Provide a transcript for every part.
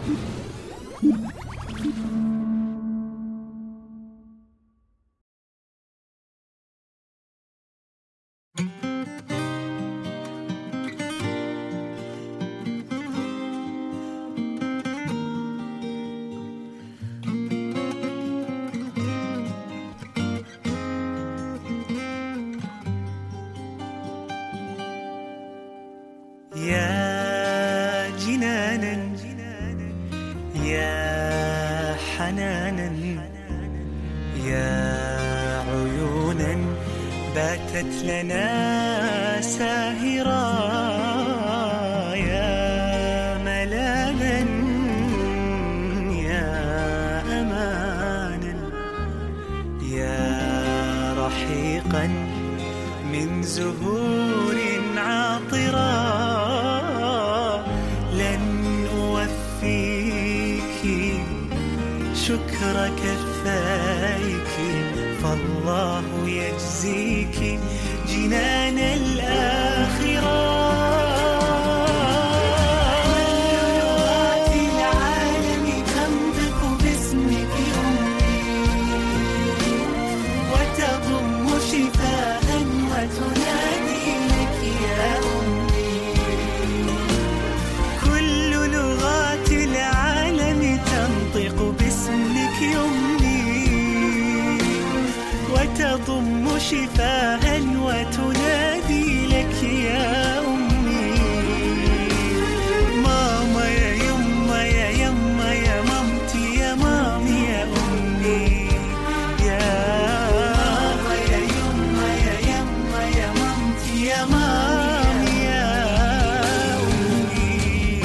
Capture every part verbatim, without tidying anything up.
يا جنانا يا حنانا يا عيونا باتت لنا ساهرا، يا ملاذا يا أمانا يا رحيقا من زهور عاطرة، شكر كفايك فالله يجزيك جنان الآخرة. لغات العالم تنطق باسمك أمي وتضم شفاء وتنادي لك يا أمي. كل لغات العالم تنطق باسمك يمني وتضم شفاء وتنادي لك يا أمي. ماما يا يما يا يما يا مامتي يا مامي يا أمي. يا ماما يا يما يا يما يا مامتي يا مامي يا أمي.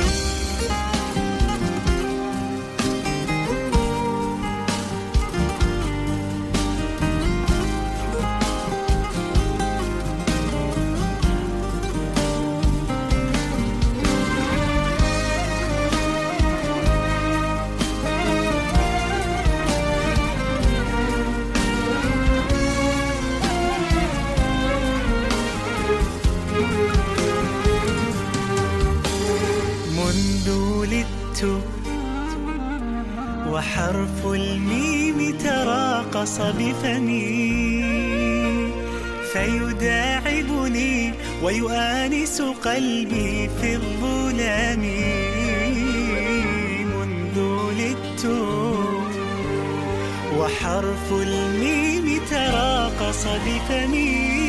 منذ ولدت وحرف الميم تراقص بفمي فيداعبني ويؤانس قلبي في الظلام. منذ ولدت وحرف الميم تراقص بفمي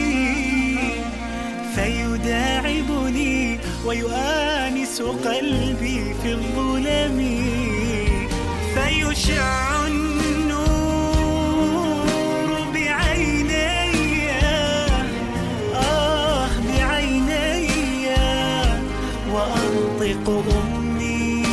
فيداعبني ويؤانس قلبي في الظلم. فيشع النور بعيني آه بعيني وأنطق أمي.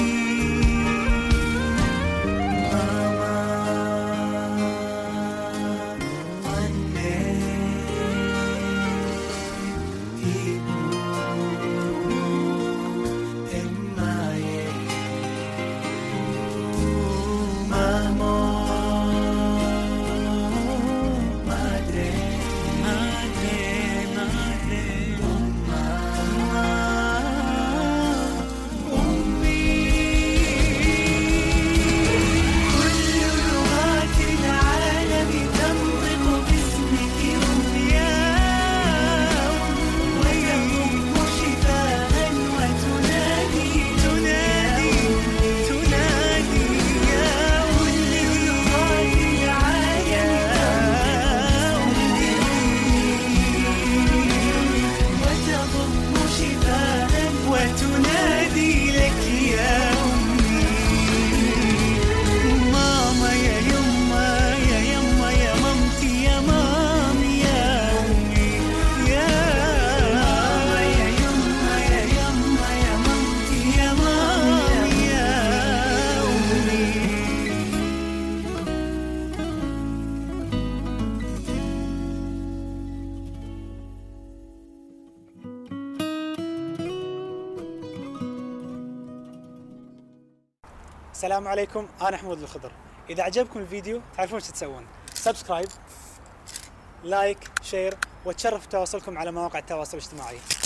السلام عليكم، أنا حمود الخضر. إذا عجبكم الفيديو تعرفون ايش تسوون؟ سبسكرايب، لايك، شير، وتشرف تواصلكم على مواقع التواصل الاجتماعي.